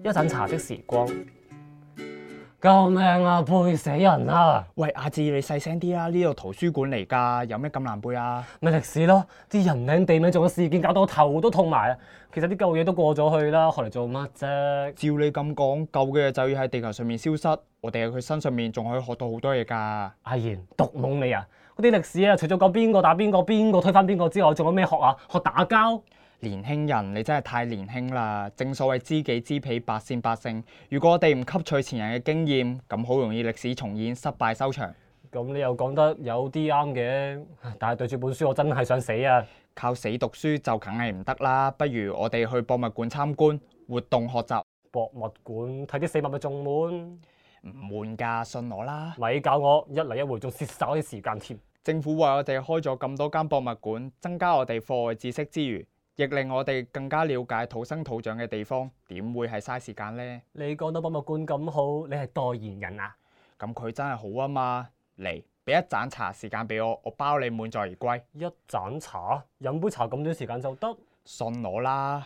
一盞茶的時光。救命啊！背死人啊！ 喂，阿志，你細聲啲啦！呢度圖書館嚟㗎，有咩咁難背啊？ 咪歷史咯，啲人名地名仲有事件，搞到我頭都痛埋啊！其實啲舊嘢都過咗去啦，學嚟做乜啫？ 照你咁講，舊嘅嘢就要喺地球上面消失，我哋喺佢身上面仲可以學到好多嘢㗎。 阿賢，毒懵你啊！嗰啲歷史啊，除咗講邊個打邊個，邊個推翻邊個之外，仲有咩學啊？學打交？ 年輕人，你真係太年輕啦！正所謂知己知彼，百戰百勝。如果我哋唔吸取前人嘅經驗，咁好容易歷史重演，失敗收場。 咁你又講得有啲啱嘅，但係對住本書我真係想死啊！ 靠死讀書就梗係唔得啦，不如我哋去博物館參觀，活動學習。 博物館睇啲死物咪仲悶？ 唔悶㗎，信我啦。 咪搞我一嚟一回仲蝕晒我啲時間添。 政府為我哋開咗咁多間博物館，增加我哋課外知識之餘，亦令我哋更加了解土生土長嘅地方，點會係嘥時間呢？ 你講到博物館咁好，你係代言人啊？ 咁佢真係好啊嘛！嚟，俾一盞茶時間俾我，我包你滿載而歸。 一盞茶，飲杯茶咁短時間就得？ 信我啦！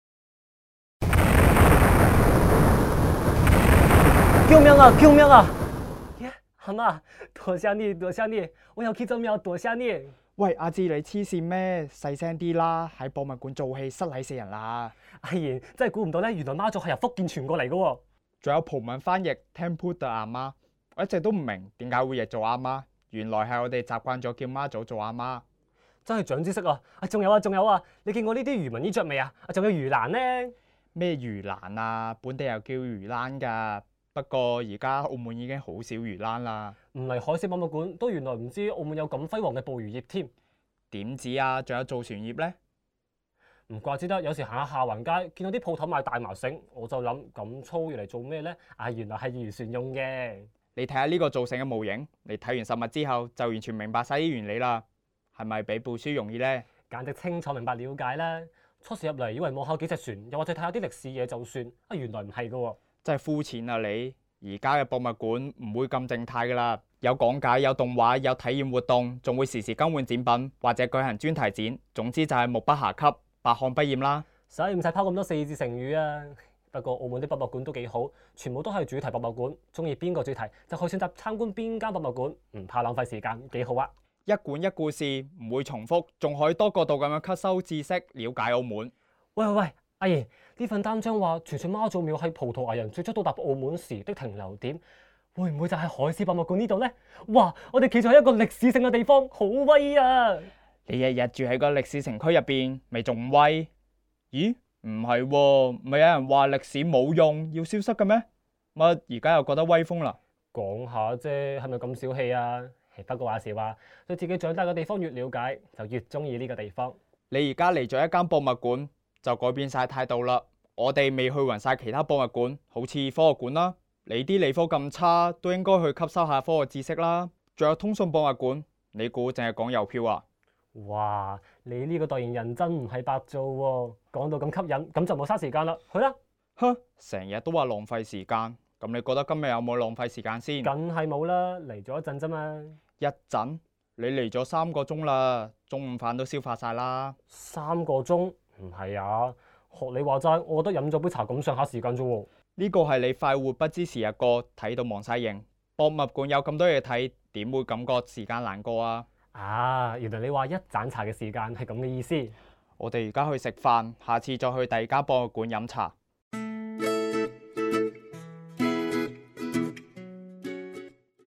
救命啊！救命啊！耶，阿媽，多謝你，多謝你，我要去做廟，多謝你。 喂，阿志，你黐線咩？細聲啲啦！喺博物館做戲，失禮死人啦！ 阿賢真係估唔到咧，原來媽祖係由福建傳過嚟嘅喎。 仲有葡文翻譯 Temple de 阿媽，我一直都唔明點解會譯做阿媽，原來係我哋習慣咗叫媽祖做阿媽。 真係長知識啊！仲有啊，仲有啊！你見過呢啲漁民衣着未啊？仲有魚欄呢？ 咩魚欄啊？本地又叫魚欄㗎。不過而家澳門已經好少魚欄啦。 唔嚟海事博物館都原來唔知澳門有咁輝煌嘅捕魚業添。 點止啊？仲有造船業呢？ 唔怪之得，有時行下下環街，見到啲鋪頭賣大麻繩，我就諗咁粗要嚟做咩呢？啊，原來係漁船用嘅。 你睇下呢個造成嘅模型，你睇完實物之後就完全明白晒啲原理啦。係咪比背書容易呢？ 簡直清楚明白了解啦。初時入嚟以為望下幾隻船，又或者睇下啲歷史嘢就算，啊原來唔係㗎喎。 真係膚淺啊你！而家嘅博物館唔會咁靜態㗎啦，有講解、有動畫、有體驗活動，仲會時時更換展品或者舉行專題展。總之就係目不暇給，百看不厭啦。 使唔使拋咁多四字成語啊？不過澳門啲博物館都幾好，全部都係主題博物館，中意邊個主題就可以選擇參觀邊間博物館，唔怕浪費時間，幾好啊！ 一館一故事，唔會重複，仲可以多角度咁樣吸收知識，了解澳門。 喂喂喂，阿爺，呢份單張話傳說媽祖廟係葡萄牙人最初到達澳門時的停留點，會唔會就係海事博物館呢度呢？哇！我哋企咗喺一個歷史性嘅地方，好威啊！ 你日日住喺個歷史城區入邊，咪仲威？咦？唔係喎，咪有人話歷史冇用，要消失嘅咩？乜而家又覺得威風啦？ 講下啫，係咪咁小氣啊？不過話時話，對自己長大嘅地方越了解，就越中意呢個地方。 你而家嚟咗一間博物館，就改變晒態度啦。我哋未去勻晒其他博物館，好似科學館啦。你啲理科咁差，都應該去吸收下科學知識啦。仲有通訊博物館，你估淨係講郵票啊？ 哇！你呢個代言人真唔係白做喎，講到咁吸引，咁就冇嘥時間啦，去啦！ 哼，成日都話浪費時間，咁你覺得今日有冇浪費時間先？ 梗係冇啦，嚟咗一陣啫嘛。 一陣？你嚟咗3個鐘啦，中午飯都消化晒啦。 3個鐘？唔係啊，學你話齋，我覺得飲咗杯茶咁上下時間啫喎。 呢個係你快活不知時日過，睇到忘晒形。博物館有咁多嘢睇，點會感覺時間難過啊？ 啊，原來你話一盞茶嘅時間係咁嘅意思。 我哋而家去食飯，下次再去第二間博物館飲茶。